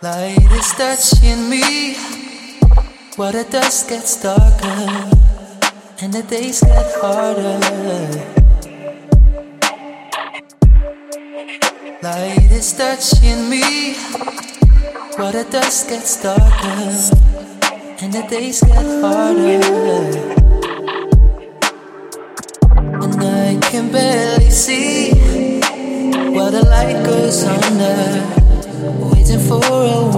Light is touching me, while the dusk gets darker and the days get harder. Light is touching me, while the dusk gets darker and the days get harder. And I can barely see while the light goes under, waiting for a